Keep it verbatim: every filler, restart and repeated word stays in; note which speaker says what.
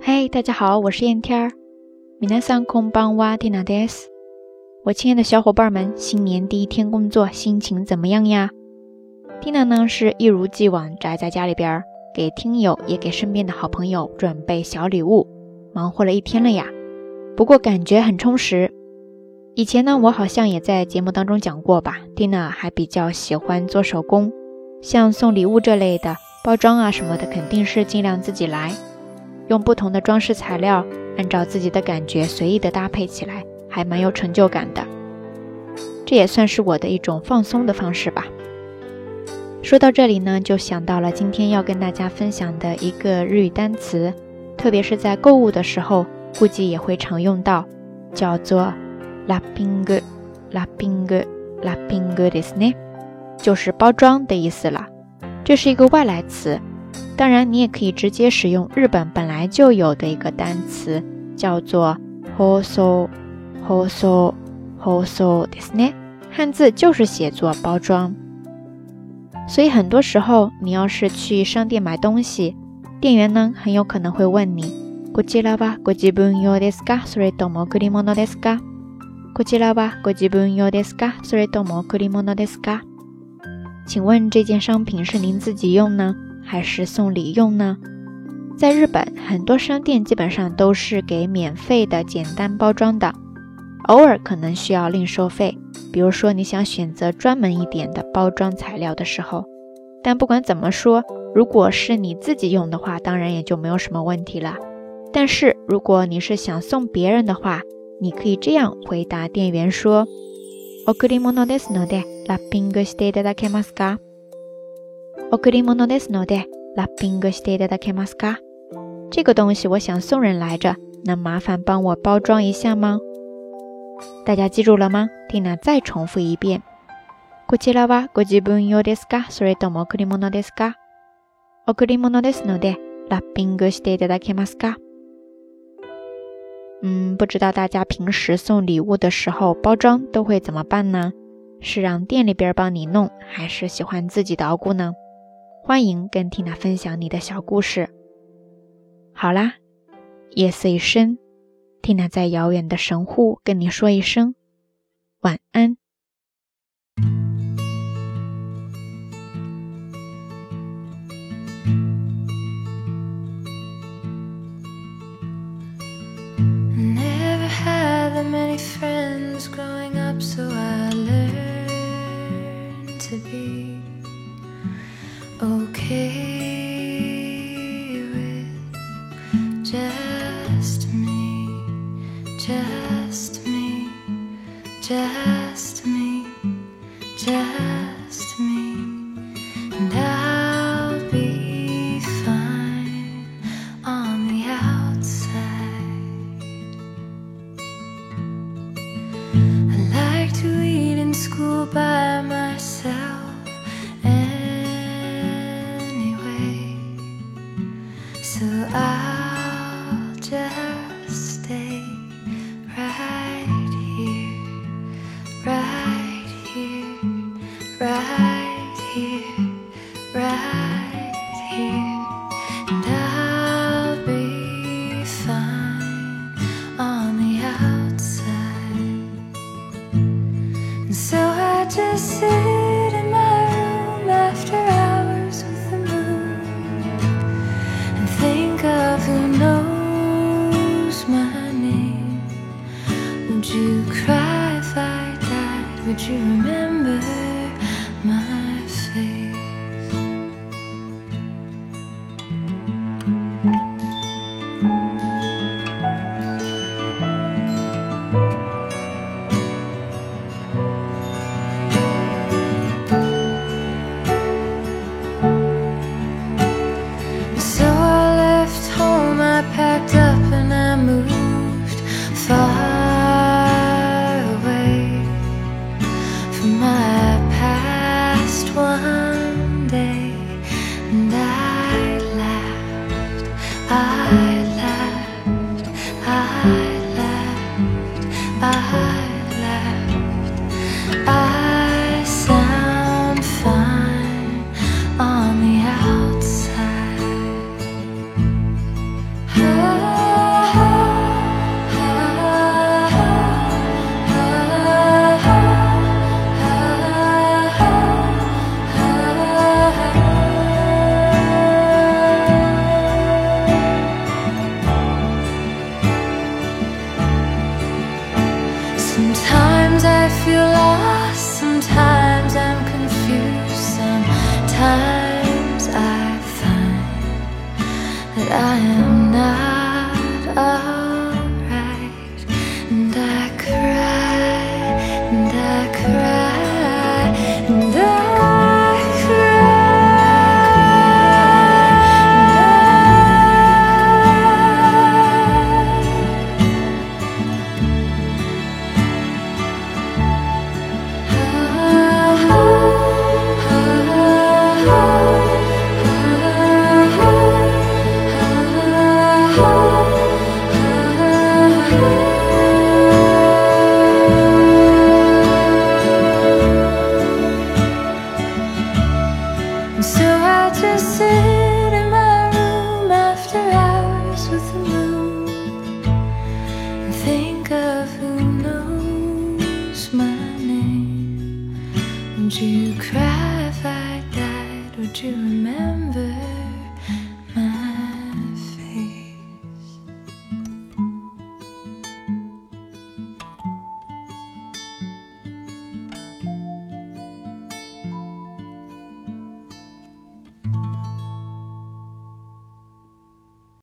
Speaker 1: 嘿、hey, 大家好，我是燕天儿。皆さんこんばんは、ティナです。我亲爱的小伙伴们，新年第一天工作，心情怎么样呀？ Tina 呢是一如既往宅在家里边，给听友也给身边的好朋友准备小礼物，忙活了一天了呀。不过感觉很充实。以前呢，我好像也在节目当中讲过吧， Tina 还比较喜欢做手工，像送礼物这类的包装啊什么的，肯定是尽量自己来，用不同的装饰材料，按照自己的感觉随意的搭配起来，还蛮有成就感的。这也算是我的一种放松的方式吧。说到这里呢，就想到了今天要跟大家分享的一个日语单词，特别是在购物的时候，估计也会常用到，叫做ラッピング、ラッピング、ラッピングですね，就是包装的意思了。这是一个外来词，当然你也可以直接使用日本本来就有的一个单词，叫做包装、包装、包装ですね，汉字就是写作包装。所以很多时候你要是去商店买东西，店员呢很有可能会问你，こちらはご自分用ですか、それとも贈り物ですか？こちらはご自分用ですか、それとも贈り物ですか？请问这件商品是您自己用呢，还是送礼用呢？在日本，很多商店基本上都是给免费的简单包装的，偶尔可能需要另收费，比如说你想选择专门一点的包装材料的时候。但不管怎么说，如果是你自己用的话，当然也就没有什么问题了。但是如果你是想送别人的话，你可以这样回答店员说，贈り物ですのでラッピングしていただけますか？贈り物ですのでラッピングしていただけますか？这个東西我想送人来着，能麻烦帮我包装一下吗？大家记住了吗？ Tina 再重复一遍。こちらはご自分用ですか？それとも贈り物ですか？贈り物ですのでラッピングしていただけますか？嗯，不知道大家平时送礼物的时候包装都会怎么办呢？是让店里边帮你弄，还是喜欢自己捣鼓呢？欢迎跟 Tina 分享你的小故事。好啦，夜色已深， Tina 在遥远的神户跟你说一声晚安。
Speaker 2: Many friends growing up, so I learned to be okay with just me, just me, just me, just me, and I'll be fine on the outside. To eat in school by myself anyway, so I'll just stay right here, right here, right here, right here, and I'll be fine on the outside. So I just sit in my room after hours with the moon and think of who knows my name. Would you cry if I died? Would you remember my face? Packed up and I moved far away from my past one day, and I laughed, I laughed, I laughed, I laughed, I sound fine on the outside. Oh, that I am not alright. And I cry, and I cry, and I cry. So I just sit in my room after hours with the moon and think of who knows my name. Would you cry if I died? Would you remember?